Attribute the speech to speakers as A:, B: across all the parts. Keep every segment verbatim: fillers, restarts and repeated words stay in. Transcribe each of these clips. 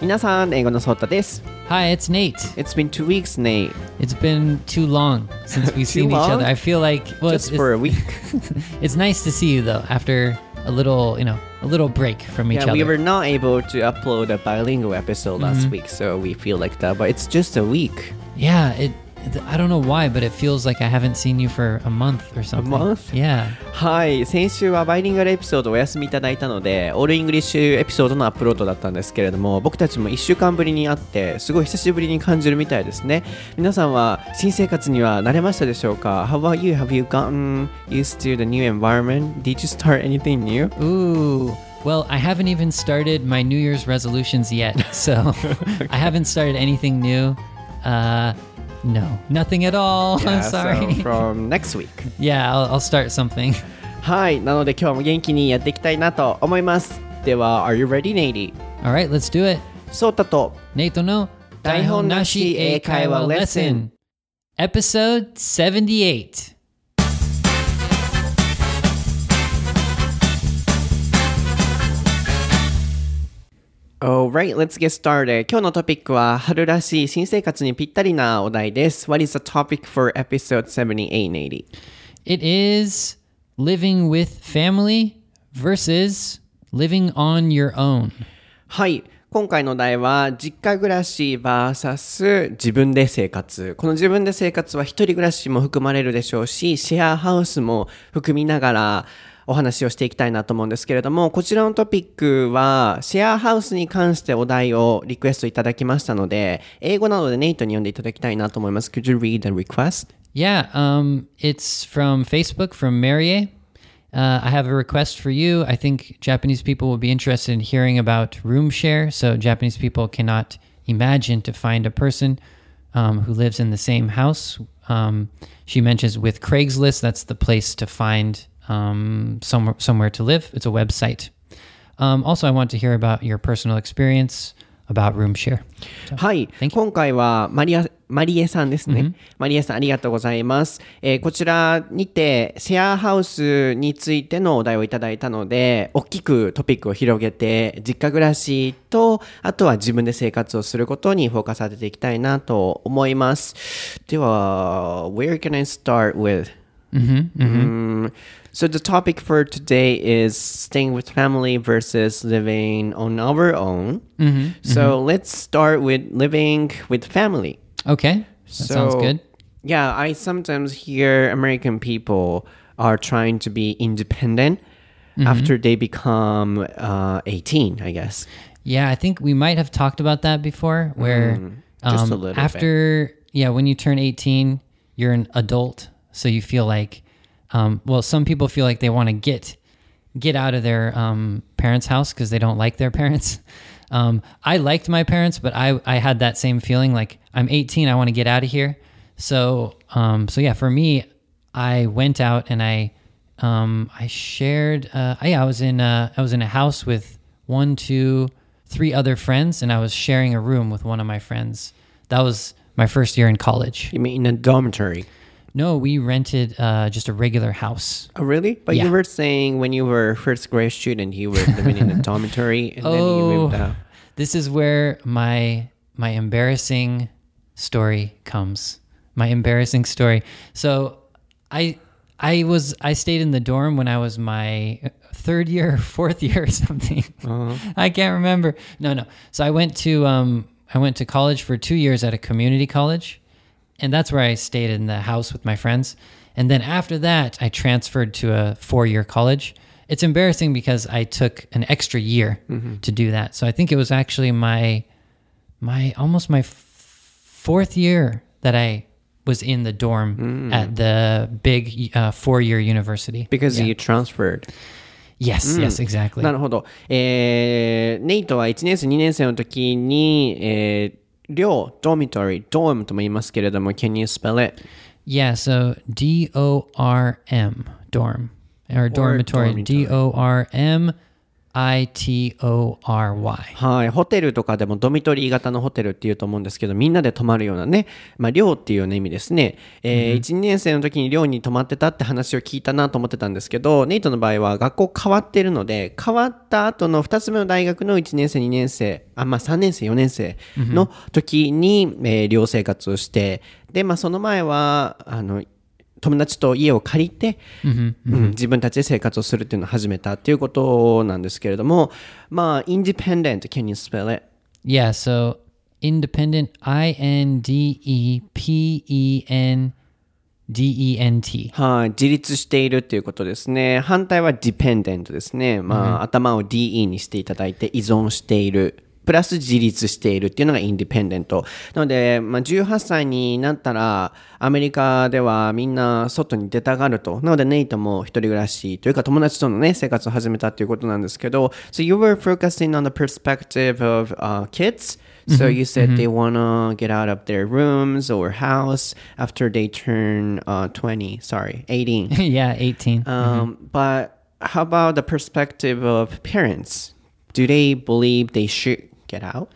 A: 皆さん、英語のソータです。
B: Hi, it's Nate.
A: It's been two weeks, Nate.
B: It's been too long since we've seen each other. I feel like
A: well, just it's, for a week.
B: It's nice to see you though after a little, you know, a little break from each
A: yeah,
B: other.
A: We were not able to upload a bilingual episode last mm-hmm. week, so we feel like that. But it's just a week.
B: Yeah, it. I don't know why, but it feels like I haven't seen you for a month or something.
A: A month?
B: Yeah.
A: はい、先週はバイリンガルエピソードをお休みいただいたので、オールイングリッシュエピソードのアップロードだったんですけれども、僕たちもいっしゅうかんぶりに会って、すごい久しぶりに感じるみたいですね。皆さんは新生活には慣れましたでしょうか？ How about you? Have you gotten used to the new environment? Did you start anything new?
B: Ooh. Well, I haven't even started my New Year's resolutions yet, so I haven't started anything new. Uh...No, nothing at all.
A: Yeah,
B: I'm sorry.
A: So from next week.
B: Yeah, I'll, I'll start something.
A: はい、なので今日も元気にやっていきたいなと思います。では、Are you ready, Nate?
B: Alright, let's do it.
A: ソータと
B: ネイトの台本なし英会話レッスン Episode seventy-eight.
A: Alright, let's get started. 今日のトピックは春らしい新生活にぴったりなお題です。What is the topic for episode seventy-eight, Nate?
B: It is living with family versus living on your own.
A: はい。今回のお題は実家暮らし ブイエス 自分で生活。この自分で生活は一人暮らしも含まれるでしょうし、シェアハウスも含みながらお話をしていきたいなと思うんですけれども、こちらのトピックはシェアハウスに関してお題をリクエストいただきましたので、英語などでネイトに読んでいただきたいなと思います。Could you read the request?
B: Yeah, um, it's from Facebook, from Marie. Uh, I have a request for you. I think Japanese people will be interested in hearing about room share. So Japanese people cannot imagine to find a person um, who lives in the same house. Um, she mentions with Craigslist, that's the place to find...Um, somewhere, somewhere to live. It's a website. Um, also, I want to hear about your personal experience about room share.
A: So, はい。今回はマリア、マリエさんですね。Mm-hmm. マリエさんありがとうございます。えー、こちらにてシェアハウスについてのお題をいただいたので、大きくトピックを広げて、実家暮らしと、あとは自分で生活をすることにフォーカス当てていきたいなと思います。では、where can I start with?、Mm-hmm. Mm-hmm. Um,So the topic for today is staying with family versus living on our own. Mm-hmm, so mm-hmm. let's start with living with family.
B: Okay, that
A: so,
B: sounds good.
A: Yeah, I sometimes hear American people are trying to be independent mm-hmm. after they become uh, eighteen, I guess.
B: Yeah, I think we might have talked about that before, where mm,
A: just
B: um,
A: a little
B: after,
A: bit.
B: yeah, when you turn eighteen, you're an adult, so you feel like...Um, well, some people feel like they want to get get out of their um, parents' house because they don't like their parents. Um, I liked my parents, but I, I had that same feeling like I'm eighteen, I want to get out of here. So um, so yeah, for me, I went out and I um, I shared. Uh, yeah, I was in a, I was in a house with one, two, three other friends, and I was sharing a room with one of my friends. That was my first year in college.
A: You mean in a dormitory?No,
B: we rented uh, just a regular house.
A: Oh, really? But
B: yeah.
A: you were saying when you were a first grade student, you were living in a dormitory and
B: oh,
A: then you moved out.
B: This is where my my embarrassing story comes. My embarrassing story. So I I was I stayed in the dorm when I was my third year or fourth year or something. Uh-huh. I can't remember. No, no. So I went to um I went to college for two years at a community college.And that's where I stayed in the house with my friends. And then after that, I transferred to a four-year college. It's embarrassing because I took an extra year mm-hmm. to do that. So I think it was actually my, my almost my f- fourth year that I was in the dorm mm. at the big uh, four-year university.
A: Because yeah. you transferred.
B: Yes,
A: mm.
B: yes, exactly.
A: なるほど。えー、ネイトはいちねん生、にねん生の時に、えー寮、dormitory, dorm とも言いますけれども、can you spell it?
B: Yeah, so D O R M, dorm. Or dormitory, D O R M I T O R Y。
A: はい。ホテルとかでもドミトリー型のホテルっていうと思うんですけど、みんなで泊まるようなね、まあ、寮っていうような意味ですね。えー、いち、にねん生の時に寮に泊まってたって話を聞いたなと思ってたんですけど、ネイトの場合は学校変わってるので、変わった後のふたつめの大学のいちねん生、にねん生、あ、まあ、さんねん生、よねん生の時に、えー、寮生活をして、で、まあ、その前は、あの、友達と家を借りて、
B: Mm-hmm.
A: うん、自分たちで生活をするっていうのを始めたっていうことなんですけれども、まあ、independent, can you spell it?
B: Yeah, so independent, I N D E P E N D E N T。
A: はい、自立しているっていうことですね。反対は dependent ですね。まあ、頭を ディーイー にしていただいて依存している。プラス自立しているっていうのがインディペンデント。なので、まあ、じゅうはっさいになったら、アメリカではみんな外に出たがると。なので、ネイトも一人暮らしというか友達とのね、生活を始めたっていうことなんですけど、So you were focusing on the perspective of、uh, kids? So you said they wanna get out of their rooms or house after they turn uh, twenty, sorry, eighteen.
B: Yeah, eighteen.
A: Um, But how about the perspective of parents? Do they believe they should get out?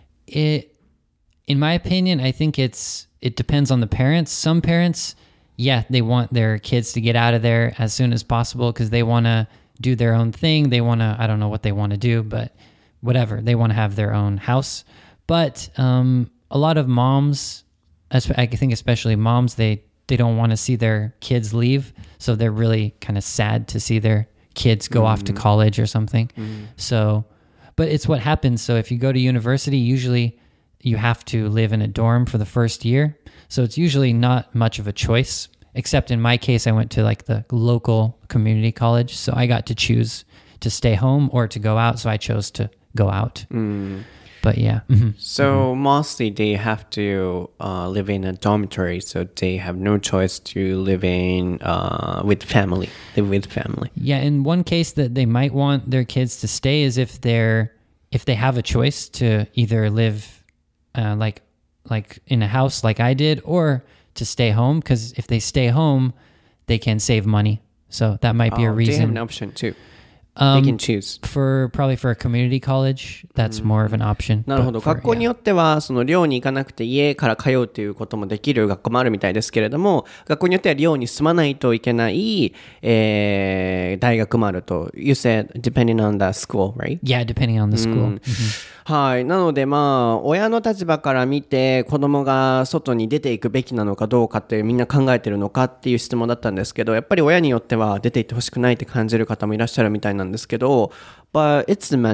B: It, in my opinion, I think it's it depends on the parents. Some parents, yeah, they want their kids to get out of there as soon as possible because they want to do their own thing. They want to, I don't know what they want to do, but whatever. They want to have their own house. But um, a lot of moms, I think especially moms, they, they don't want to see their kids leave. So they're really kind of sad to see their kids go mm. off to college or something. Mm. So, but it's what happens. So if you go to university, usually you have to live in a dorm for the first year. So it's usually not much of a choice, except in my case, I went to like the local community college. So I got to choose to stay home or to go out. So I chose to go out.
A: Mm.
B: But yeah. Mm-hmm.
A: So mm-hmm. mostly they have to uh, live in a dormitory. So they have no choice to live in uh, with family, live with family.
B: Yeah. In one case that they might want their kids to stay is if they're, if they have a choice to either live uh, like, like in a house like I did, or to stay home. Because if they stay home, they can save money. So that might be
A: oh,
B: a reason.
A: They have an option too.
B: Um,
A: they can choose.
B: For probably for a community college, that's more of an option.
A: なるほど。学校によっては、その寮に行かなくて家から通うということもできる学校もあるみたいですけれども、学校によっては寮に住まないといけない、えー、大学もあると。You said depending on the school, right?
B: Yeah, depending on the school.
A: はい。なのでまあ、親の立場から見て子供が外に出ていくべきなのかどうかってみんな考えてるのかっていう質問だったんですけど、やっぱり親によっては出て行ってほしくないって感じる方もいらっしゃるみたいなんですけど、but it's the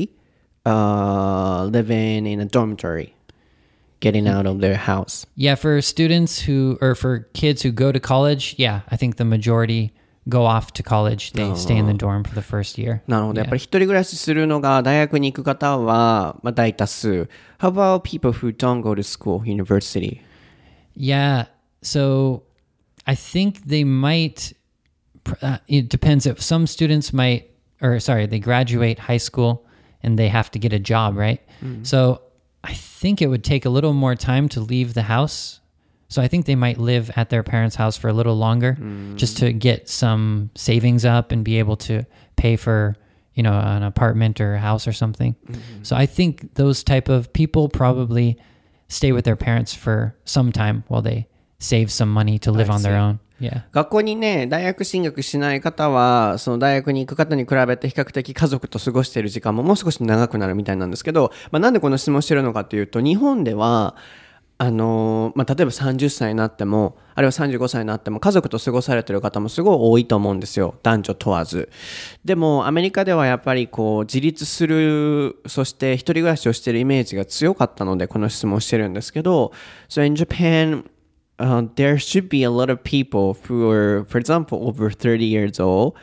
A: majority、uh, living in a dormitory, getting out of their house.
B: Yeah, for students who, or for kids who go to college, yeah, I think the majority go off to college. They stay in the dorm for the first year.
A: なるほど。やっぱり一人暮らしするのが大学に行く方は、まあ、大多数。How about people who don't go to school, university?
B: Yeah, so I think they might, uh, it depends. If some students might, or sorry, they graduate high school and they have to get a job, right? Mm-hmm. So I think it would take a little more time to leave the house. So I think they might live at their parents' house for a little longer mm. just to get some savings up and be able to pay for, you know, an apartment or a house or something. Mm-hmm. So I think those type of people probably stay with their parents for some time while they save some money to live on their own. Yeah.
A: 学校にね、大学進学しない方は、その大学に行く方に比べて比較的家族と過ごしている時間ももう少し長くなるみたいなんですけど、まあ、なんでこの質問してるのかというと、日本では、あのまあ、例えばさんじゅっさいになってもあるいはさんじゅうごさいになっても家族と過ごされている方もすごい多いと思うんですよ、男女問わず。でもアメリカではやっぱりこう自立する、そして一人暮らしをしているイメージが強かったのでこの質問をしてるんですけど、 So in Japan、uh, there should be a lot of people who are, for example, over thirty years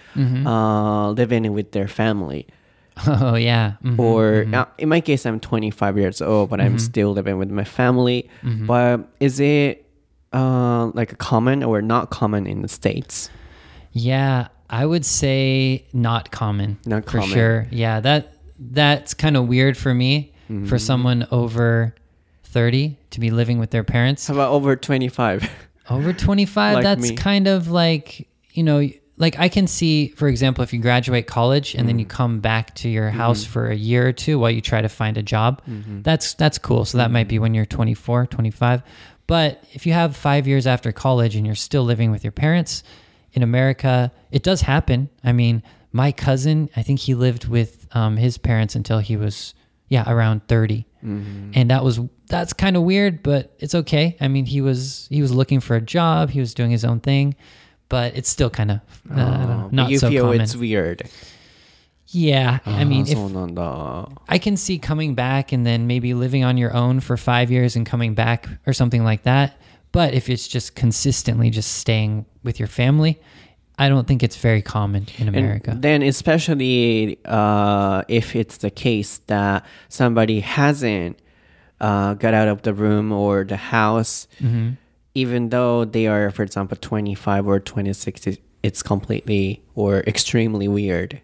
A: old、uh, living with their family.Oh
B: yeah.
A: Mm-hmm, or mm-hmm. Uh, in my case, I'm twenty-five years old, but mm-hmm. I'm still living with my family. Mm-hmm. But is it uh, like common or not common in the States?
B: Yeah, I would say not common.
A: Not
B: for
A: common.
B: Sure. Yeah, that that's kind of weird for me, mm-hmm. for someone over thirty to be living with their parents.
A: How about over twenty-five?
B: Over twenty-five,
A: like
B: that's
A: me.
B: kind of like, you know, like I can see, for example, if you graduate college and mm. then you come back to your house mm-hmm. for a year or two while you try to find a job, mm-hmm. that's that's cool. So that mm-hmm. might be when you're twenty-four, twenty-five. But if you have five years after college and you're still living with your parents in America, it does happen. I mean, my cousin, I think he lived with um, his parents until he was, yeah, around thirty. Mm-hmm. And that was that's kind of weird, but it's okay. I mean, he was he was looking for a job. He was doing his own thing. But it's still kind of uh, oh, not
A: you
B: so
A: feel
B: common.
A: It's weird.
B: Yeah,
A: ah,
B: I mean, if,
A: そうなんだ.
B: I can see coming back and then maybe living on your own for five years and coming back or something like that. But if it's just consistently just staying with your family, I don't think it's very common in America.
A: And then especially uh, if it's the case that somebody hasn't uh, got out of the room or the house, mm-hmm. even though they are, for example, twenty-five or twenty-six, it's completely or extremely weird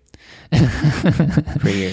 A: for you.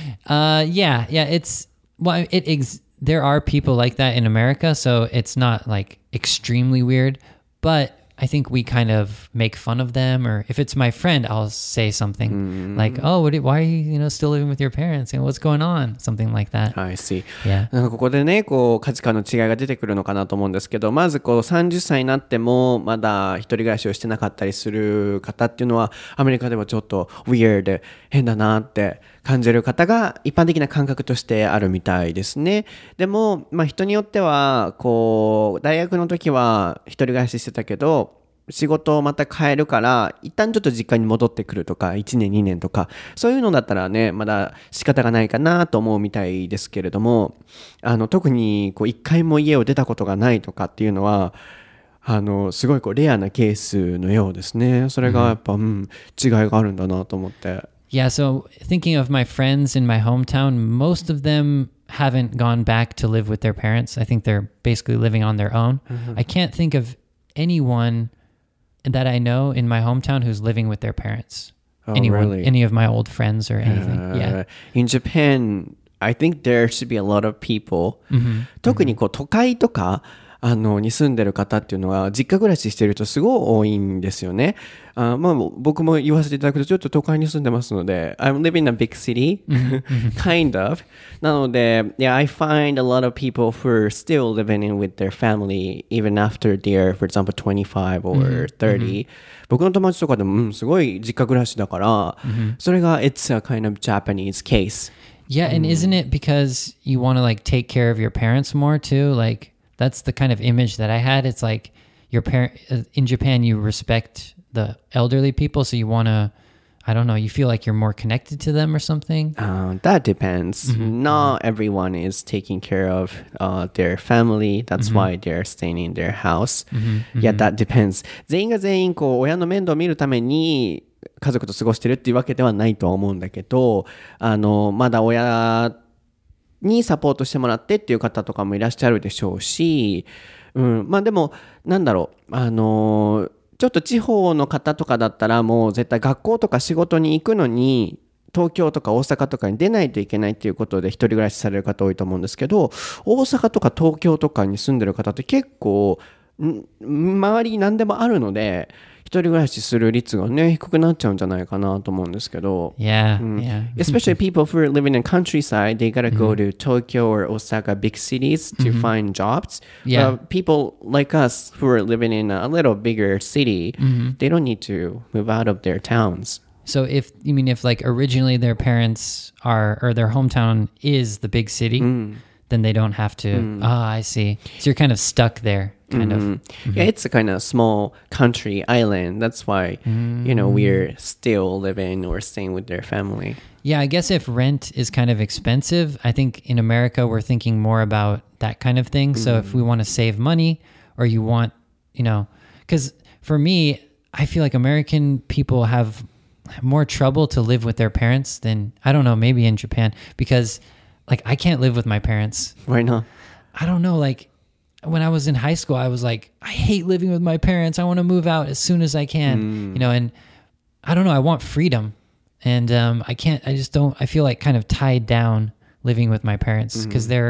B: Uh, yeah, yeah. It's well, it ex- there are people like that in America, so it's not like extremely weird. But I think we kind of make fun of them, or if it's my friend, I'll say something mm. like, "Oh, what, why are you, you know, still living with your parents? And what's going on?" Something like that.
A: I see.
B: Yeah.
A: なんかここでね、こう価値観の違いが出てくるのかなと思うんですけど、まずこうさんじゅっさいになってもまだ一人暮らしをしてなかったりする方っていうのは、アメリカではちょっと weird 変だなって感じる方が一般的な感覚としてあるみたいですね。でも、まあ人によってはこう大学の時は一人暮らししてたけど。仕事をまた変えるから一旦ちょっと実家に戻ってくるとかいちねんにねんとかそういうのだったらねまだ仕方がないかなと思うみたいですけれどもあの特にこう一回も家を出たことがないとかっていうのはあのすごいこうレアなケースのようですね。それがやっぱ、うん、違いがあるんだなと思って。
B: Yeah, so thinking of my friends in my hometown, most of them haven't gone back to live with their parents. I think they're basically living on their own. Mm-hmm. I can't think of anyone that I know in my hometown who's living with their parents.
A: Oh,
B: Anyone,
A: really?
B: Any of my old friends or anything. Uh, yeah.
A: In Japan, I think there should be a lot of people. Mm-hmm. 特にこう都会とかあのに住んでる方っていうのは実家暮らししてる人すごい多いんですよね。あまあ僕も言わせていただくとちょっと都会に住んでますので I'm living in a big city kind of なので yeah I find a lot of people who are still living in with their family even after they're for example twenty-five or thirty、mm-hmm. 僕の友達とかでも、うん、すごい実家暮らしだから、mm-hmm. それが it's a kind of Japanese case.
B: Yeah, and isn't it because you want to like take care of your parents more too? Like that's the kind of image that I had. It's like your parent in Japan, you respect the elderly people, so you want to, I don't know, you feel like you're more connected to them or something?
A: Uh, that depends. Mm-hmm. Not everyone is taking care of uh, their family. That's mm-hmm. why they're staying in their house. Mm-hmm. Yeah, that depends. 全員が全員こう親の面倒を見るために家族と過ごしてるっていうわけではないとは思うんだけど、あのまだ親にサポートしてもらってっていう方とかもいらっしゃるでしょうし、うん、まあでもなんだろう、あのちょっと地方の方とかだったらもう絶対学校とか仕事に行くのに東京とか大阪とかに出ないといけないっていうことで一人暮らしされる方多いと思うんですけど、大阪とか東京とかに住んでる方って結構周りに何でもあるので一人暮らしする率がね低くなっちゃうんじゃないかなと思うんですけど。
B: Yeah,
A: うん、
B: yeah.
A: Especially people who are living in countryside, they gotta go to Tokyo or Osaka, big cities to find jobs.
B: Yeah.
A: But people like us who are living in a little bigger city, they don't need to move out of their towns.
B: So if you mean if like originally their parents are or their hometown is the big city, mm. then they don't have to. Mm. Ah, I see. So you're kind of stuck there. Kind
A: mm-hmm. of. Mm-hmm. Yeah, it's a kind of small country island. That's why, mm. you know, we're still living or staying with their family.
B: Yeah, I guess if rent is kind of expensive, I think in America we're thinking more about that kind of thing. Mm-hmm. So if we want to save money or you want, you know, because for me, I feel like American people have more trouble to live with their parents than, I don't know, maybe in Japan, because like I can't live with my parents.
A: Why not?
B: I don't know, like, when I was in high school, I was like, I hate living with my parents. I want to move out as soon as I can, mm. you know, and I don't know, I want freedom. And um, I can't, I just don't, I feel like kind of tied down living with my parents because mm. they're,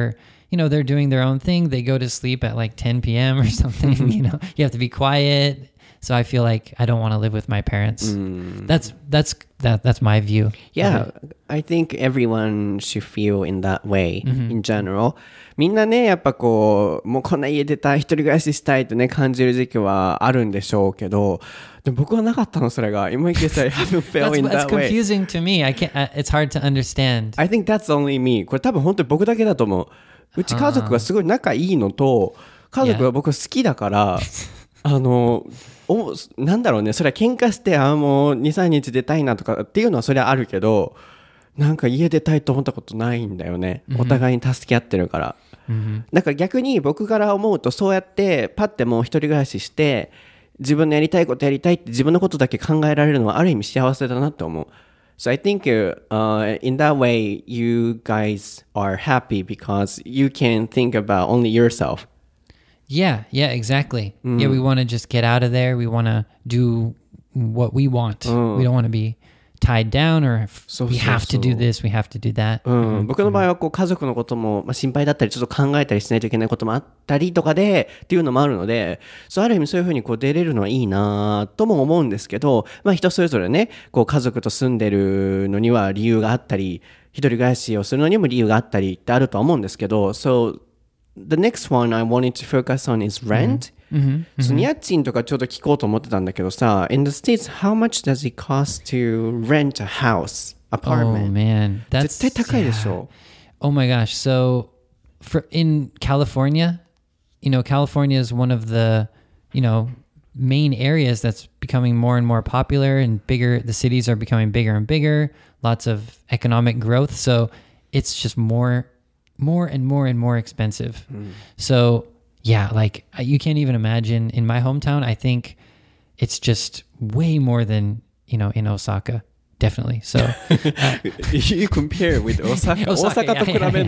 B: you know, they're doing their own thing. They go to sleep at like ten p.m. or something. You know, you have to be quiet. So I feel like I don't want to live with my parents. Mm. That's that's that that's my view.
A: Yeah, I think everyone should feel in that way, mm-hmm. in general. みんなね、やっぱこう、もうこんな家出たい、一人暮らししたいってね、感じる時期はあるんでしょうけど、でも僕はなかったの、それが。今池さん haven't felt in that way.
B: That's confusing to me. I can't, it's hard to understand.
A: I think that's only me. これ多分本当に僕だけだと思う。うち家族がすごい仲いいのと、家族が僕好きだから、あの、おなんだろうね、それは喧嘩して、あもうに、さんにち出たいなとかっていうのはそれはあるけど、なんか家出たいと思ったことないんだよね。お互いに助け合ってるから。Mm-hmm. だから逆に僕から思うとそうやってパッてもう一人暮らしして自分のやりたいことやりたいって自分のことだけ考えられるのはある意味幸せだなって思う。So I think、uh, in that way you guys are happy because you can think about only yourself.
B: Yeah, yeah, exactly. Mm. Yeah, we want to just get out of there. We want to do what we want. Mm. We don't want to be tied down or we have to do this, we have to do that.
A: うん、僕の場合はこう家族のことも、まあ、心配だったりちょっと考えたりしないといけないこともあったりとかでっていうのもあるので、そうある意味そういうふうにこう出れるのはいいなとも思うんですけど、まあ人それぞれね、こう家族と住んでるのには理由があったり、一人暮らしをするのにも理由があったりってあるとは思うんですけど、So the next one I wanted to focus on is rent.、うんMm-hmm, mm-hmm. その家賃とかちょっと聞こうと思ってたんだけどさ In the States, how much does it cost to rent a house, apartment?
B: Oh man, that's
A: 絶対高いでしょ
B: yeah. Oh my gosh, so for in California, you know, California is one of the, you know, main areas that's becoming more and more popular and bigger. The cities are becoming bigger and bigger, lots of economic growth. So it's just more, more and more and more expensive. Mm. So yeah, like you can't even imagine in my hometown, I think it's just way more than, you know, in Osaka. Definitely. So uh,
A: you compare with Osaka. Osaka to kurabenu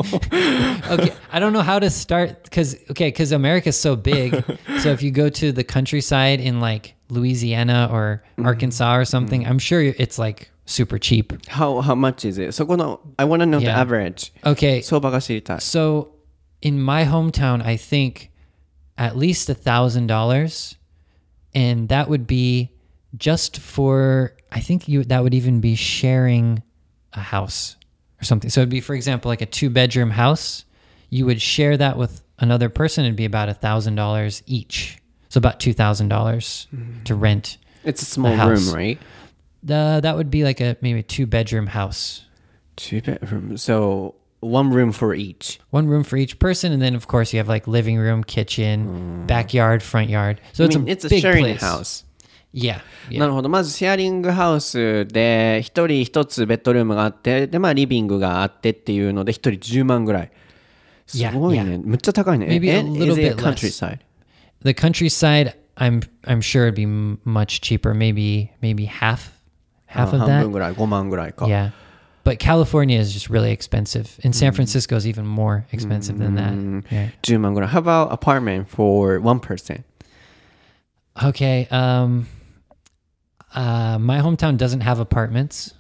A: no.
B: Okay, I don't know how to start cuz okay, cuz America's so big. So if you go to the countryside in like Louisiana or Arkansas or something, mm-hmm. I'm sure it's like super cheap.
A: How how much is it? そこの I want to know yeah. the average.
B: Okay.
A: 相場が知りたい。
B: So in my hometown, I think at least a thousand dollars, and that would be just for, I think you that would even be sharing a house or something. So it'd be, for example, like a two bedroom house. You would share that with another person. It'd be about a thousand dollars each. So about two thousand dollars mm. to rent.
A: It's a small room, right?
B: The that would be like a maybe a two bedroom house.
A: Two bedroom. So one room for each.
B: One room for each person, and then of course you have like living room, kitchen, mm. backyard, front yard. So it's, I mean, a,
A: it's a
B: big
A: sharing
B: place.
A: house.
B: Yeah, yeah.
A: なるほど。まずシェアリングハウスで一人一つベッドルームがあって、でまあリビングがあってっていうので一人じゅうまんぐらい。すごいね。
B: Yeah, yeah.
A: むっちゃ高いね。
B: Maybe a little
A: bit
B: bit
A: countryside.
B: The countryside, I'm I'm sure it'd be much cheaper. Maybe maybe half half of that.
A: 半分ぐらい、ごまんぐらいか。
B: Yeah. But California is just really expensive. And San Francisco is even more expensive than that. Yeah.
A: じゅうまんぐらい。How about apartment for one person?
B: Okay. Um, uh, my hometown doesn't have apartments.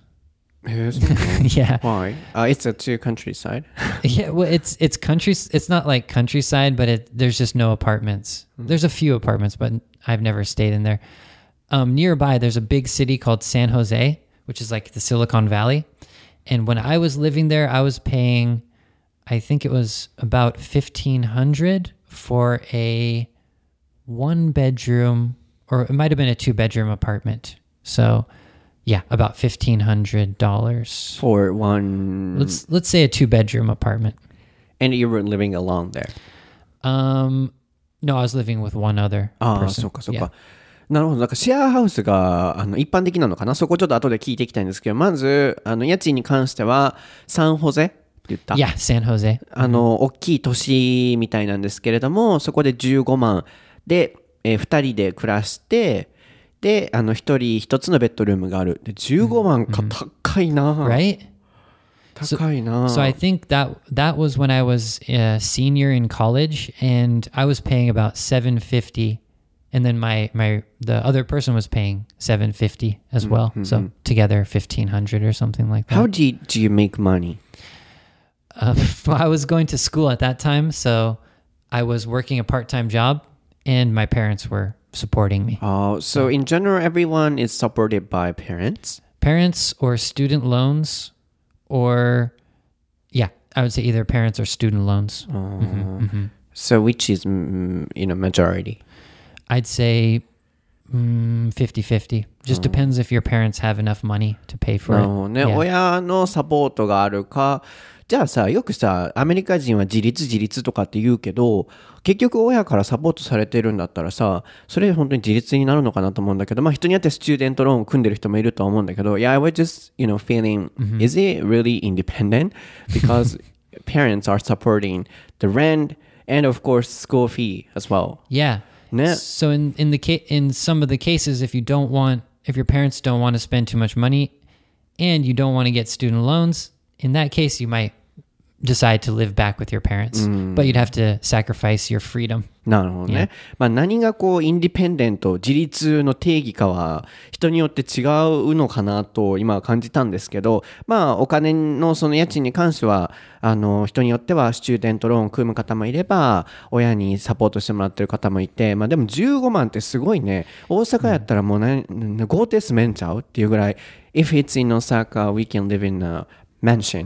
B: Yeah.
A: Why? Uh, it's a two countryside.
B: Yeah. Well, it's it's country. It's not like countryside, but it there's just no apartments. Mm. There's a few apartments, but I've never stayed in there. Um, nearby, there's a big city called San Jose, which is like the Silicon Valley. And when I was living there, I was paying, I think it was about fifteen hundred for a one bedroom, or it might have been a two bedroom apartment. So, yeah, about fifteen hundred dollars
A: for one.
B: Let's let's say a two bedroom apartment.
A: And you were living alone there?
B: Um, no, I was living with one other person.
A: ああ、そうかそうか。Yeah. なるほど。なんかシェアハウスがあの一般的なのかな。そこちょっと後で聞いていきたいんですけど、まずあの家賃に関してはサンホゼって言った。
B: Yeah, San Jose.
A: あの大きい都市みたいなんですけれども、そこでじゅうごまんで、えー、ふたりで暮らして、であのひとりひとつのベッドルームがある。でじゅうごまんか、mm-hmm. 高いな。
B: Right?
A: 高いな。
B: So, so I think that that was when I was a senior in college, and I was paying about seven fifty. And then my, my the other person was paying seven fifty as well. Mm-hmm. So together fifteen hundred or something like that.
A: How do you, do you make money?
B: Uh, I was going to school at that time, so I was working a part-time job, and my parents were supporting me.
A: Oh, so in general, everyone is supported by parents?
B: Parents or student loans, or yeah, I would say either parents or student loans.
A: Oh.
B: Mm-hmm, mm-hmm.
A: So which is, mm, you know, majority?
B: I'd say mm, fifty-fifty. Just depends if your parents have enough money to pay for
A: な
B: it.
A: るほどね。
B: Yeah.
A: 親のサポートがあるか。じゃあさ、よくさ、アメリカ人は自立自立とかって言うけど、結局親からサポートされてるんだったらさ、それ本当に自立になるのかなと思うんだけど、まあ人によってスチューデントローンを組んでる人もいるとは思うんだけど、Yeah, I was just, you know, feeling, is it really independent? Because parents are supporting the rent and of course school fee as well.
B: Yeah.
A: ね。
B: So in in the ca- in some of the cases, if you don't want, if your parents don't want to spend too much money, and you don't want to get student loans, in that case, you might decide to live back with your parents, but you'd have to sacrifice your freedom.
A: なるほどね。まあ何がこうインディペンデント、自立の定義かは人によって違うのかなと今は感じたんですけど、まあお金のその家賃に関してはあの人によってはスチューデントローンを組む方もいれば親にサポートしてもらってる方もいて、まあでもじゅうごまんってすごいね。大阪やったらもうね、豪邸住めんちゃうっていうぐらい、If it's in Osaka, we can live in a mansion.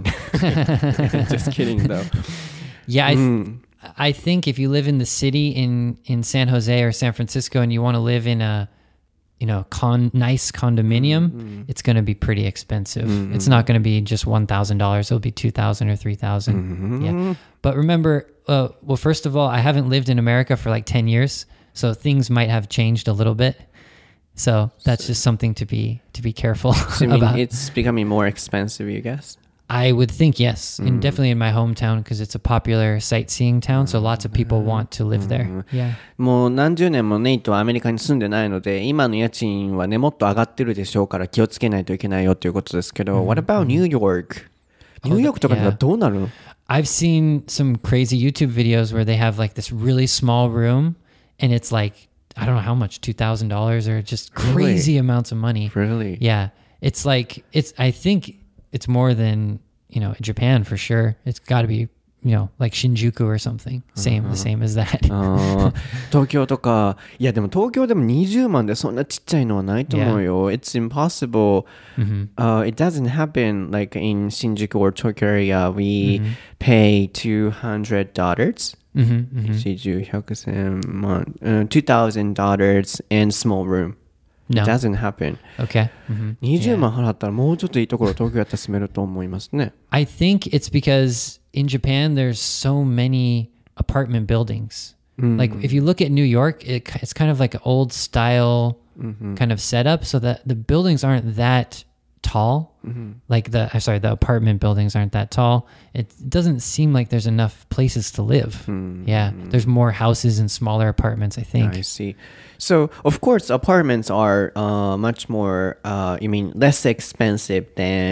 A: Just kidding though.
B: Yeah, I, th- I think if you live in the city in, in San Jose or San Francisco and you want to live in a, you know, con nice condominium, mm-hmm. it's going to be pretty expensive. Mm-hmm. It's not going to be just one thousand dollars. It'll be two thousand dollars or three thousand dollars. Mm-hmm. Yeah. But remember, uh, well, first of all, I haven't lived in America for like ten years, so things might have changed a little bit. So that's just something to be to be careful
A: So you mean
B: about.
A: it's becoming more expensive, you guess?
B: I would think yes, and definitely in my hometown because it's a popular sightseeing town, so lots of people want to live there. Yeah.
A: もう何十年もネイトはアメリカに住んでないので、今の家賃はねもっと上がってるでしょうから気をつけないといけないよということですけど、What about New York? ニューヨークとかではどうなるの？
B: I've seen some crazy YouTube videos where they have like this really small room, and it's like I don't know how much, two thousand dollars or just crazy
A: Really?
B: amounts of money.
A: Really?
B: Yeah, it's like it's. I think it's more than you know Japan for sure. It's got to be you know like Shinjuku or something. Same, the same as that.
A: あー東京とか、いやでも東京でもにじゅうまんでそんなちっちゃいのはないと思うよ。It's impossible. Uh, it doesn't happen like in Shinjuku or Tokyo area. We pay two hundred dollars.
B: Mm-hmm, mm-hmm.
A: 四十、百、千万、uh, two thousand dollars and small room.
B: No.
A: It doesn't happen.
B: Okay. Mm-hmm.
A: にじゅうまん払ったらもうちょっといいところ東京やったら住めると思いますね。
B: I think it's because in Japan there's so many apartment buildings. Like if you look at New York, it, it's kind of like an old style kind of setup, so that the buildings aren't that tall. Like the I'm sorry, the apartment buildings aren't that tall. It doesn't seem like there's enough places to live. Yeah, there's more houses and smaller apartments, I think.
A: I see. So, of course, apartments are uh, much more, uh, you mean, less expensive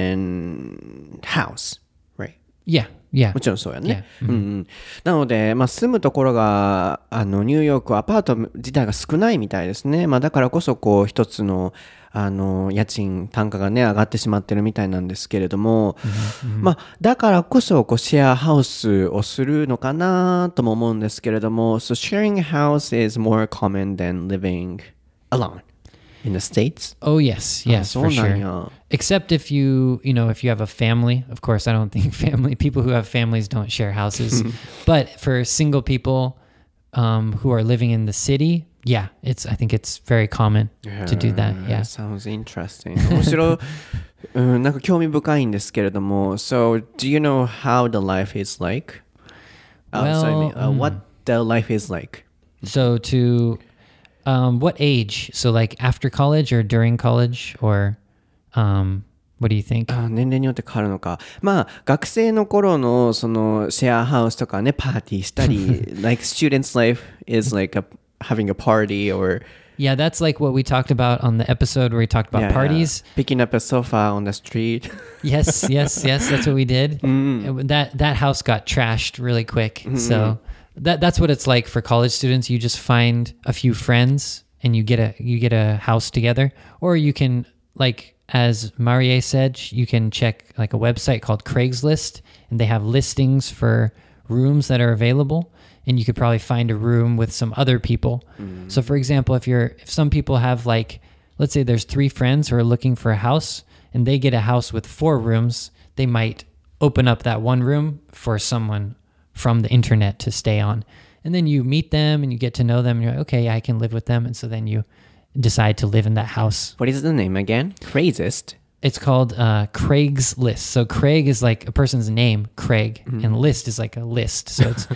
A: than house, right?
B: Yeah, yeah.
A: もちろんそうやね。
B: Yeah.
A: うんうん、なので、まあ、住むところがあのニューヨークはアパート自体が少ないみたいですね。まあ、だからこそこう一つのあの家賃単価がね上がってしまってるみたいなんですけれども、まあ、だからこそこうシェアハウスをするのかなとも思うんですけれども、So sharing a house is more common than living alone in the States?
B: Oh yes, yes,
A: そう
B: for
A: なん
B: sure.
A: や。
B: Except if you, you know, if you have a family. Of course, I don't think family people who have families don't share houses. But for single people um, who are living in the city, yeah, it's. I think it's very common to do that. Yeah.
A: Sounds interesting. 面白い、うん、なんか興味深いんですけれども。So, do you know how the life is like? Uh,
B: Well,
A: sorry, I mean, uh,
B: mm.
A: what the life is like?
B: So to um, what age? So like after college or during college or um, what do you think?
A: あ、年齢によって変わるのか。まあ学生の頃のそのシェアハウスとかねパーティーしたりlike students' life is like a, having a party or
B: Yeah, that's like what we talked about on the episode where we talked about
A: yeah,
B: parties.
A: picking up a sofa on the street.
B: Yes, yes, yes. That's what we did. It- That that house got trashed really quick. So that that's what it's like for college students. You just find a few friends and you get a you get a house together, or you can like as Marie said, you can check like a website called Craigslist, and they have listings for rooms that are available, and you could probably find a room with some other people. Mm. So for example, if you're if some people have like, let's say there's three friends who are looking for a house and they get a house with four rooms, they might open up that one room for someone from the internet to stay on. And then you meet them and you get to know them and you're like, okay, I can live with them. And so then you decide to live in that house.
A: What is the name again? Craigslist?
B: It's called uh, Craigslist. So Craig is like a person's name, Craig, mm-hmm. and list is like a list. So it's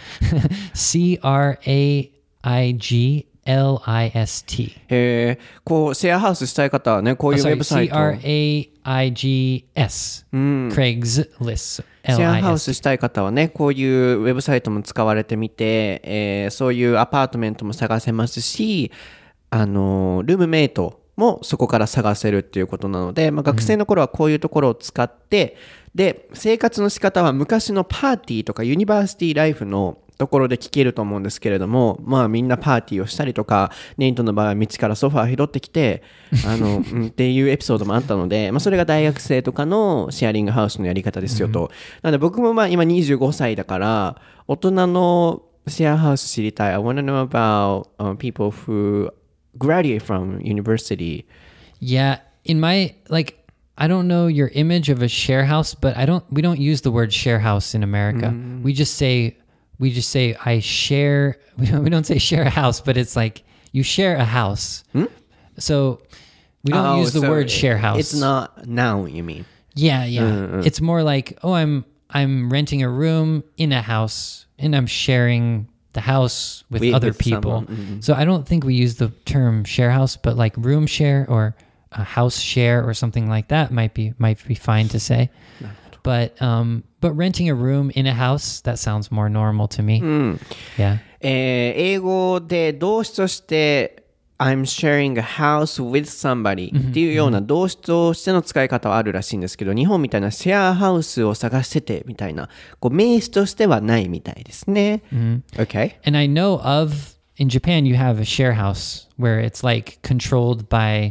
B: C R A I G L I S T.
A: へえ、こうシェアハウスしたい方はね、こういうウェブサイト。
B: C R A I G S、うん、Craigslist。シ
A: ェアハウスしたい方はね、こういうウェブサイトも使われてみて、えー、そういうアパートメントも探せますし、あのルームメイトもそこから探せるっていうことなので、まあ、学生の頃はこういうところを使って、うん、で生活の仕方は昔のパーティーとかユニバーシティライフのところで聞けると思うんですけれども、まあみんなパーティーをしたりとか、ネイトの場合は道からソファー拾ってきてあの、うん、っていうエピソードもあったので、まあ、それが大学生とかのシェアリングハウスのやり方ですよと、うん、なので僕もまあ今にじゅうごさいだから大人のシェアハウス知りたい。 I want to know about、uh, people who graduate from university.
B: Yeah, in my like I don't know your image of a share house, but I don't we don't use the word share house in America. Mm. We just say we just say I share we don't, we don't say share a house, but it's like you share a house. Hmm? So we don't oh, use the so word share house.
A: It's not noun, you mean?
B: Yeah, yeah. Mm-hmm. It's more like, oh, I'm I'm renting a room in a house and I'm sharing the house with, with other with people. Mm-hmm. So I don't think we use the term share house, but like room share or a house share or something like that might be might be fine to say. But um, but renting a room in a house, that sounds more normal to me. Mm. Yeah.
A: えー、英語で動詞として、I'm sharing a house with somebody っていうような動詞としての使い方はあるらしいんですけど、日本みたいなシェアハウスを探しててみたいな、こう名詞としてはないみたいですね。Mm-hmm. Okay.
B: And I know of, in Japan, you have a share house where it's like controlled by,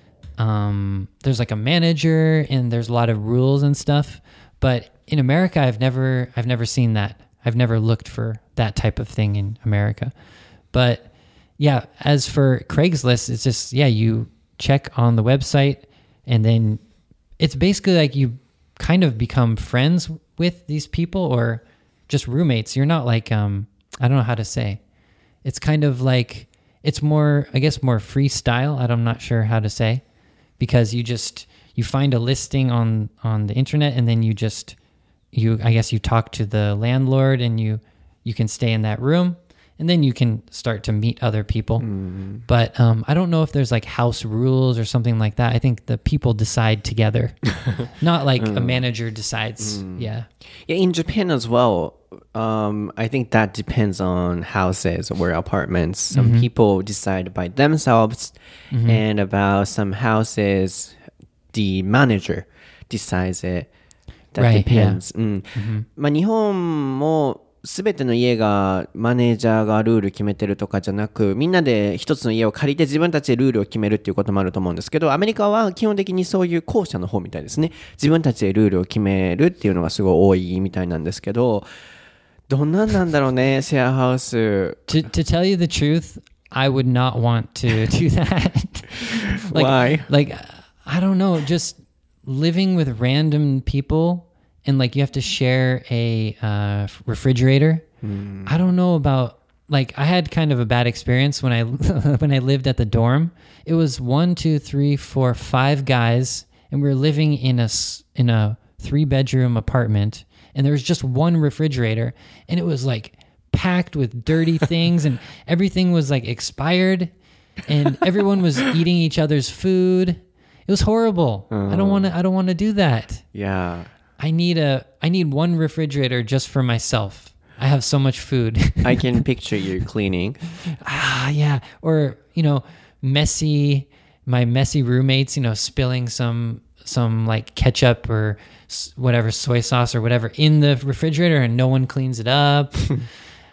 B: um, there's like a manager and there's a lot of rules and stuff. But in America, I've never, I've never seen that. I've never looked for that type of thing in America. But yeah, as for Craigslist, it's just, yeah, you check on the website and then it's basically like you kind of become friends with these people or just roommates. You're not like, um, I don't know how to say. It's kind of like, it's more, I guess, more freestyle. I'm not sure how to say, because you just, you find a listing on, on the internet and then you just, you, I guess you talk to the landlord and you, you can stay in that room. And then you can start to meet other people. Mm. But um, I don't know if there's like house rules or something like that. I think the people decide together, not like mm. a manager decides. Mm. Yeah.
A: Yeah. In Japan as well, um, I think that depends on houses or apartments. Some mm-hmm. people decide by themselves, mm-hmm. and about some houses, the manager decides it. That right, depends. Yeah. うん。Mm-hmm. まあ日本もすべての家がマネージャーがルール決めてるとかじゃなく、みんなで一つの家を借りて自分たちでルールを決めるっていうこともあると思うんですけど、アメリカは基本的にそういう後者の方みたいですね。自分たちでルールを決めるっていうのがすごい多いみたいなんですけど、どんなんなんだろうね、シェアハウス。
B: To, to tell you the truth, I would not want to do that. like,
A: Why?
B: Like, I don't know, just living with random people and like you have to share a uh, refrigerator. Mm. I don't know about, like I had kind of a bad experience when I when I lived at the dorm. It was one, two, three, four, five guys, and we were living in a in a three bedroom apartment, and there was just one refrigerator, and it was like packed with dirty things, and everything was like expired, and everyone was eating each other's food. It was horrible. Uh, I don't want to. I don't want to do that.
A: Yeah.
B: I need a I need one refrigerator just for myself. I have so much food.
A: I can picture you cleaning.
B: Ah, yeah. Or, you know, messy, my messy roommates, you know, spilling some some like ketchup or whatever, soy sauce or whatever in the refrigerator and no one cleans it up.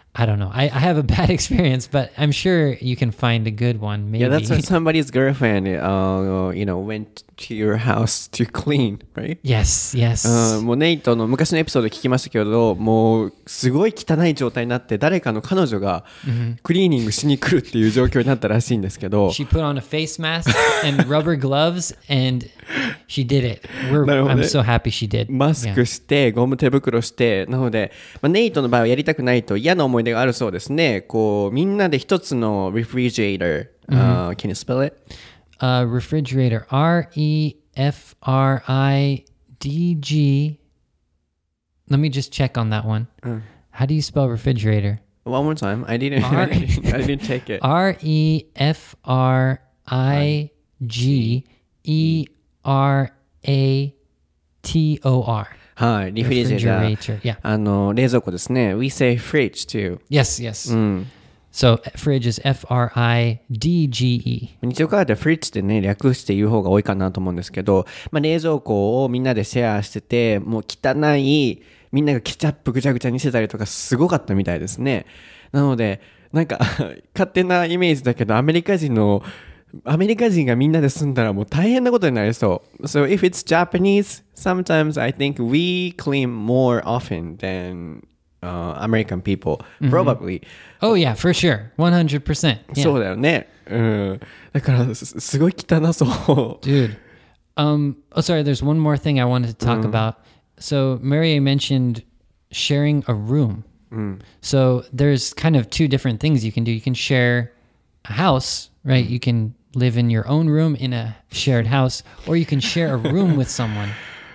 B: I don't know. I, I have a bad experience, but I'm sure you can find a good one. Maybe.
A: Yeah, that's when somebody's girlfriend, uh, you know, went to your house to clean, right?
B: Yes, yes.
A: うん、もうネイトの昔のエピソード聞きましたけど、もうすごい汚い状態になって誰かの彼女がクリーニングしに来るっていう状況になったらしいんですけど、
B: She put on a face mask and rubber gloves and she did it. We're, I'm so happy she did.
A: マスクして、ゴム手袋して、なので、まあ、ネイトの場合はやりたくないと嫌な思い出があるそうですね。こうみんなで一つの refrigerator、uh, can you spell it?
B: Uh, refrigerator. R E F R I D G. Let me just check on that one. How do you spell refrigerator?
A: One more time. I didn't,
B: R-
A: I didn't, I didn't take it.
B: R E F R I G E R A T O R.
A: はい、リフリジェーター。
B: Yeah.
A: あの、冷蔵庫ですね。We say fridge too.
B: Yes, yes.
A: うん。
B: So fridge is F R I D G E.
A: 日常会話でフリッジってね、略して言う方が多いかなと思うんですけど、まあ、冷蔵庫をみんなでシェアしてて、もう汚い、みんながケチャップぐちゃぐちゃにしてたりとかすごかったみたいですね。なので、なんか勝手なイメージだけど、アメリカ人の、アメリカ人がみんなで住んだらもう大変なことになりそう。So if it's Japanese, sometimes I think we clean more often than、uh, American people. Probably.、Mm-hmm.
B: Oh yeah, for sure. one hundred percent. Yeah.
A: そうだよね。うん。だからす、すごい汚そう。
B: Dude. Um, oh, sorry, there's one more thing I wanted to talk、mm. about. So Maria mentioned sharing a room.、Mm. So there's kind of two different things you can do. You can share a house, right? You can live in your own room in a shared house, or you can share a room with someone.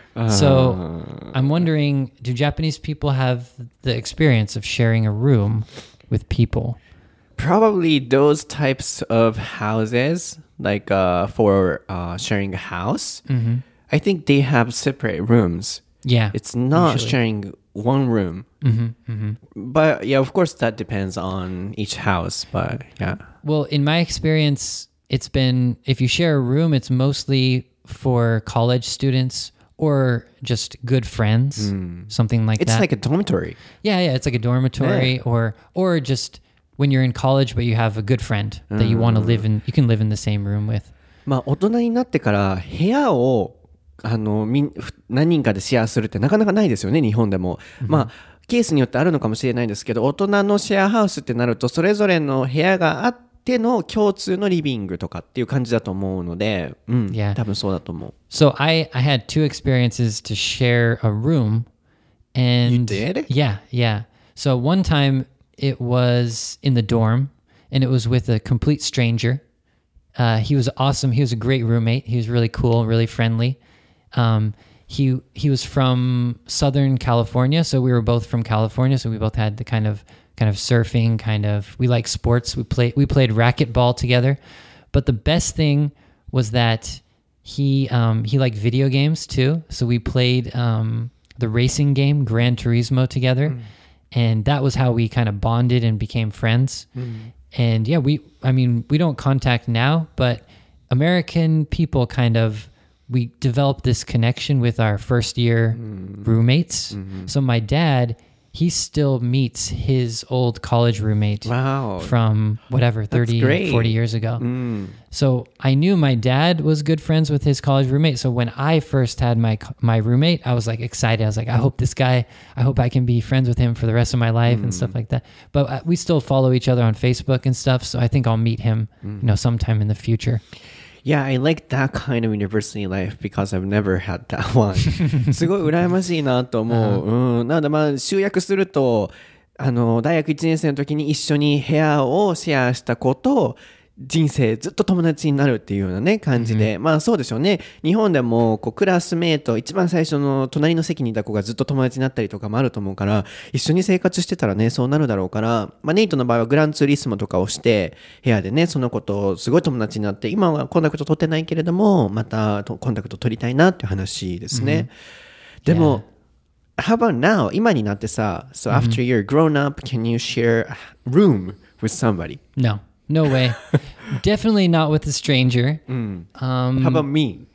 B: So I'm wondering, do Japanese people have the experience of sharing a room with people?
A: Probably those types of houses, like uh, for uh, sharing a house.、Mm-hmm. I think they have separate rooms.
B: Yeah.
A: It's not
B: usually.
A: sharing one room.、Mm-hmm.
B: Mm-hmm.
A: But yeah, of course that depends on each house, but yeah.
B: Well, in my experience, it's been, if you share a room, it's mostly for college students or just good friends,、mm. something like
A: it's
B: that.
A: It's like a dormitory.
B: Yeah, yeah, it's like a dormitory、yeah. or or just when you're in college but you have a good friend that you want to live in, you can live in the same room with.
A: まあ大人になってから部屋をあのみ何人かでシェアするってなかなかないですよね、日本でも。Mm-hmm. まあケースによってあるのかもしれないんですけど、大人のシェアハウスってなるとそれぞれの部屋があっての共通のリビングとかっていう感じだと思うので、うん、
B: yeah.
A: 多分そうだと思う。
B: So I, I had two experiences to share a room. And
A: you did?
B: Yeah, yeah. So one time it was in the dorm and it was with a complete stranger. Uh, he was awesome. He was a great roommate. He was really cool, really friendly. Um, he he was from Southern California, so we were both from California. So we both had the kind of kind of surfing, kind of we like sports. We played we played racquetball together. But the best thing was that he um, he liked video games too. So we played um, the racing game Gran Turismo together, mm. and that was how we kind of bonded and became friends. Mm. And yeah, we I mean we don't contact now, but American people kind of. We developed this connection with our first year mm. roommates. Mm-hmm. So my dad, he still meets his old college roommate
A: wow.
B: from whatever, thirty, forty years ago. Mm. So I knew my dad was good friends with his college roommate. So when I first had my my roommate, I was like excited. I was like, I hope this guy, I hope I can be friends with him for the rest of my life mm. and stuff like that. But we still follow each other on Facebook and stuff. So I think I'll meet him, mm. you know, sometime in the future.Yeah,
A: I like that kind of university life because I've never had that one. すごい羨ましいなと思う。うん、なのでまあ集約すると、あの大学いちねん生の時に一緒に部屋をシェアした子と人生ずっと友達になるっていうようなね感じで、うん、まあそうでしょうね。日本でもこうクラスメート一番最初の隣の席にいた子がずっと友達になったりとかもあると思うから、一緒に生活してたらねそうなるだろうから、まあネイトの場合はグランツーリスモとかをして部屋でねその子とすごい友達になって、今はコンタクト取ってないけれどもまたコンタクト取りたいなっていう話ですね。うん、でも、yeah. How about now? 今になってさ、so after you're grown up, can you share a room with somebody?
B: No.No way. Definitely not with a stranger.
A: Mm. Um, How about me?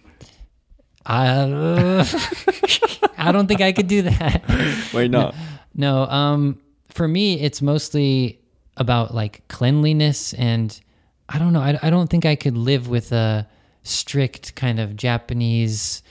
B: Uh, I don't think I could do that.
A: Why not?
B: No. Um, for me, it's mostly about like cleanliness, and I don't know. I, I don't think I could live with a strict kind of Japanese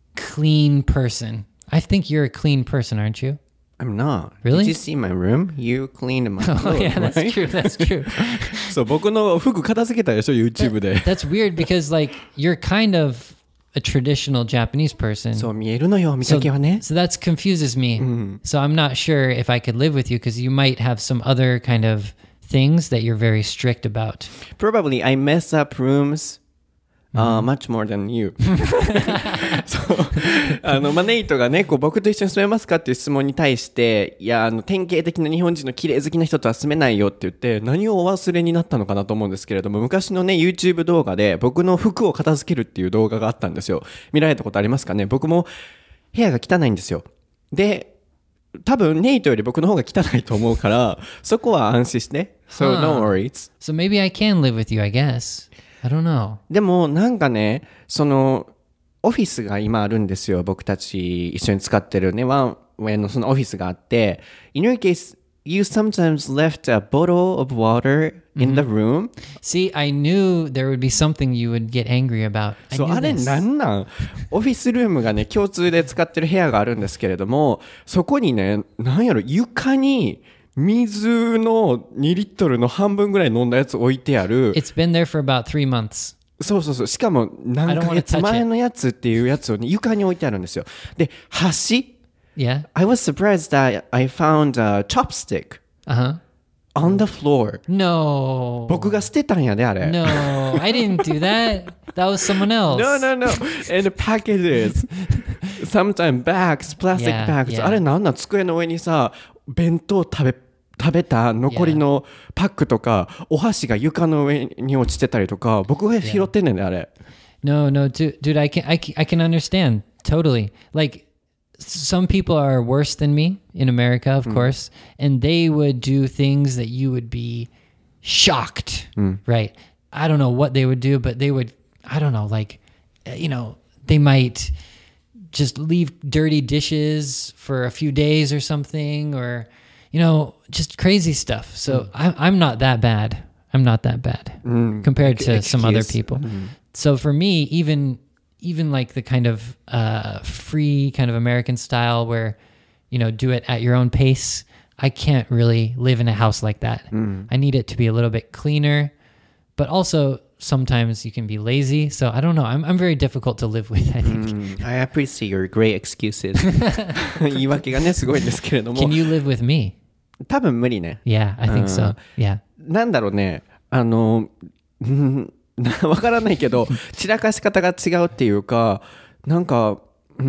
B: clean person. I think you're a clean person, aren't you?
A: I'm not.
B: Really?
A: Did you see my room? You cleaned my
B: Oh,
A: clothes,
B: yeah, that's
A: right?
B: true. That's true.
A: そう、僕の服片付けたでしょ、YouTube で。
B: That's weird because like you're kind of a traditional Japanese person.
A: そう見えるのよ、見
B: So,
A: かけはね。
B: so that confuses me. So I'm not sure if I could live with you because you might have some other kind of things that you're very strict about.
A: Probably I mess up rooms uh, much more than you. そうあの、まあ、ネイトがね、こう僕と一緒に住めますかっていう質問に対して、いや、あの、典型的な日本人の綺麗好きな人とは住めないよって言って、何をお忘れになったのかなと思うんですけれども、昔のね、YouTube 動画で僕の服を片付けるっていう動画があったんですよ。見られたことありますかね？僕も部屋が汚いんですよ。で、多分ネイトより僕の方が汚いと思うから、そこは安心して。So don't worry.
B: So maybe I can live with you, I guess. I don't know.
A: でもなんかね、そのオフィスが今あるんですよ。僕たち一緒に使ってるね、ワンウェイのそのオフィスがあって、In your case, you sometimes left a bottle of water in the room.
B: See, I knew there would be something you would get angry about. I
A: そう、
B: knew
A: あれ
B: this.
A: なんなん？オフィスルームがね、共通で使ってる部屋があるんですけれども、そこにね、なんやろ、床に水のにリットルの半分ぐらい飲んだやつ置いてある。
B: It's been there for about three months.
A: そうそうそう。しかも何ヶ月前のやつっていうやつを、ね、床に置いてあるんですよ。で、箸
B: Yeah.
A: I was surprised that I found a chopstick
B: Uh-huh.
A: on the floor.
B: No.
A: 僕が捨てたんやで、あれ。
B: No, I didn't do that. That was someone else.
A: No, no, no. And packages. Sometimes bags, plastic
B: Yeah,
A: bags.
B: yeah.
A: あれなんなん？机の上にさ、弁当食べ、食べた残りのパックとか、お箸が床の上に落ちてたりとか、僕が拾ってんねんね、あれ。
B: No, no, dude, dude I can, I can, I can understand totally. Like, some people are worse than me in America, of course, and they would do things that you would be shocked, right? I don't know what they would do, but they would, I don't know, like, uh, you know, they might just leave dirty dishes for a few days or something, or, you know, just crazy stuff. So I'm, I'm not that bad. I'm not that bad compared to some other
A: Excuse.
B: people. So for me, even even like the kind of uh, free kind of American style where, you know, do it at your own pace, I can't really live in a house like that. I need it to be a little bit cleaner, but also sometimes you can be lazy. So I don't know. I'm I'm very difficult to live with, I think.
A: I appreciate your great excuses. 言い訳がね、すごいんですけれども。
B: Can you live with me?
A: 多分無理ね。
B: Yeah, I think so. Yeah.
A: なんだろうね、あの、うんわからないけど、散らかし方が違うっていうか、なんか、うん、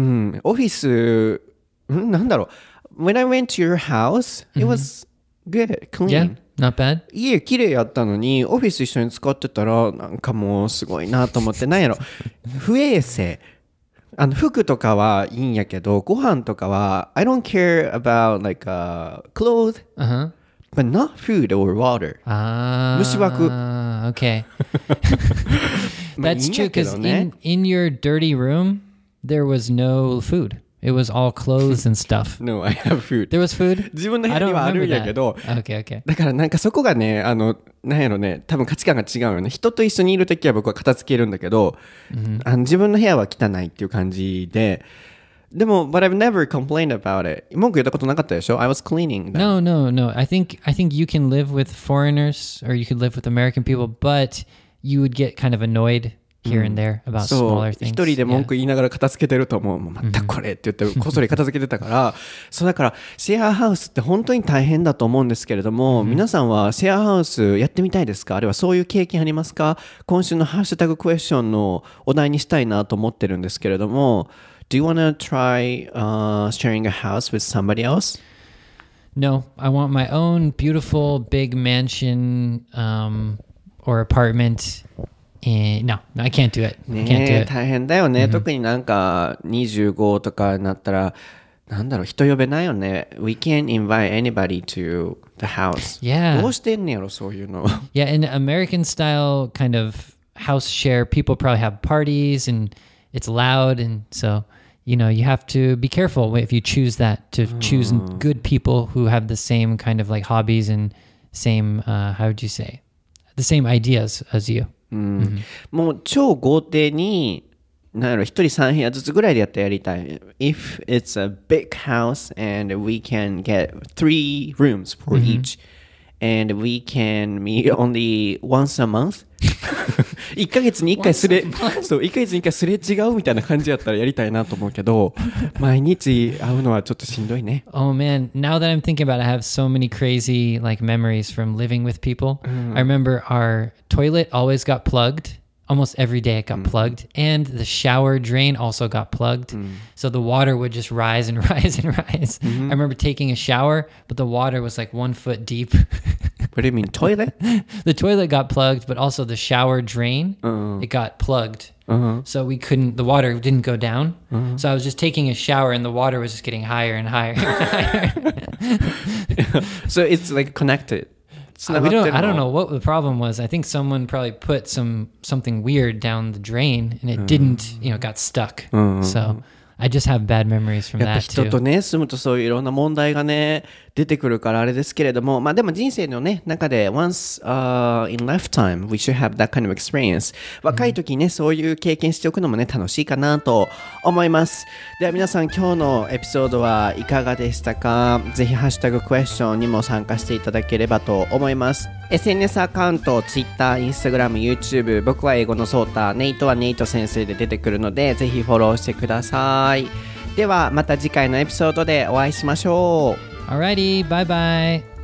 A: オフィス、んなんだろう。When I went to your house, it was good, clean.
B: Yeah, not bad.
A: 家綺麗やったのに、オフィス一緒に使ってたら、なんかもうすごいなと思って、なんやろ、不衛生。あの服とかはいいんやけど、ご飯とかは、I don't care about like uh, clothes,
B: Uh-huh.
A: but not food or water.
B: Ah,
A: 虫枠。
B: okay.
A: まあ、いい
B: That's
A: ん
B: true
A: やけ
B: because
A: どね。
B: in, in your dirty room, there was no food. It was all clothes and stuff.
A: No, I have food.
B: There was food?
A: 自分の部
B: I
A: 屋に
B: don't
A: はある
B: remember
A: んや
B: that.
A: けど、
B: Okay, okay.
A: だからなんかそこがね、あの、なんやろね、多分価値観が違うよね。人と一緒にいるときは僕は片付けるんだけど、あの自分の部屋は汚いっていう感じで、でも、but I've never complained about it. 文句言ったことなかったでしょ？ I was cleaning them.
B: No, no, no. I think I think you can live with foreigners or you could live with American people, but you would get kind of annoyed here and there about
A: そう
B: smaller things.
A: 一人で文
B: Yeah.
A: 句言いながら片付けてると思う。もうまたこれって言ってこっそり片付けてたからそうだからシェアハウスって本当に大変だと思うんですけれども、皆さんはシェアハウスやってみたいですか？あるいはそういう経験ありますか？今週のハッシュタグクエスチョンのお題にしたいなと思ってるんですけれども Do you want to try、uh, sharing a house with somebody else?
B: No, I want my own beautiful big mansion um, or apartment. And no, no, I can't do it. I can't do
A: ねえ
B: it.
A: 大変だよね、特になんかにじゅうごとかになったらなんだろう人呼べないよね We can't invite anybody to the house
B: Yeah.
A: どうしてんねやろそういうの
B: Yeah, in American style kind of house share, people probably have parties and it's loud, and so you know, you have to be careful if you choose that, to choose good people who have the same kind of like hobbies and same, uh, how would you say, the same ideas as you.
A: うん、もう超豪邸になんやろ一人さん部屋ずつぐらいでやってやりたい。If it's a big house and we can get three rooms for each and we can meet only once a month いっかげつにいっかいすれそういっかげつにいっかいすれ違うみたいな感じやったらやりたいなと思うけど毎日会うのはちょっとしんどいね。
B: Oh man, now that I'm thinking about it, I have so many crazy like memories from living with people. I remember our toilet always got plugged. Almost every day it got plugged, and the shower drain also got plugged. So the water would just rise and rise and rise. I remember taking a shower, but the water was like one foot deep.
A: What do you mean, toilet?
B: The toilet got plugged, but also the shower drain,
A: uh-huh.
B: it got plugged.
A: Uh-huh.
B: So we couldn't, the water didn't go down. Uh-huh. So I was just taking a shower and the water was just getting higher and higher and higher.
A: So it's like connected.
B: Uh, we don't, I don't know what the problem was. I think someone probably put some something weird down the drain and it didn't, you know, got stuck. So I just have bad memories from
A: やっぱ
B: that
A: 人
B: too.
A: とね住むとそういういろんな問題がね出てくるからあれですけれども、まあでも人生のね中で once、uh, in lifetime we should have that kind of experience。若い時にねそういう経験しておくのもね楽しいかなと思います。では皆さん今日のエピソードはいかがでしたか？ぜひハッシュタグクエスチョンにも参加していただければと思います。エスエヌエス アカウント、Twitter、Instagram、YouTube、僕は英語のソータ、ネイトはネイト先生で出てくるので、ぜひフォローしてください。ではまた次回のエピソードでお会いしましょう。
B: Alrighty, bye bye.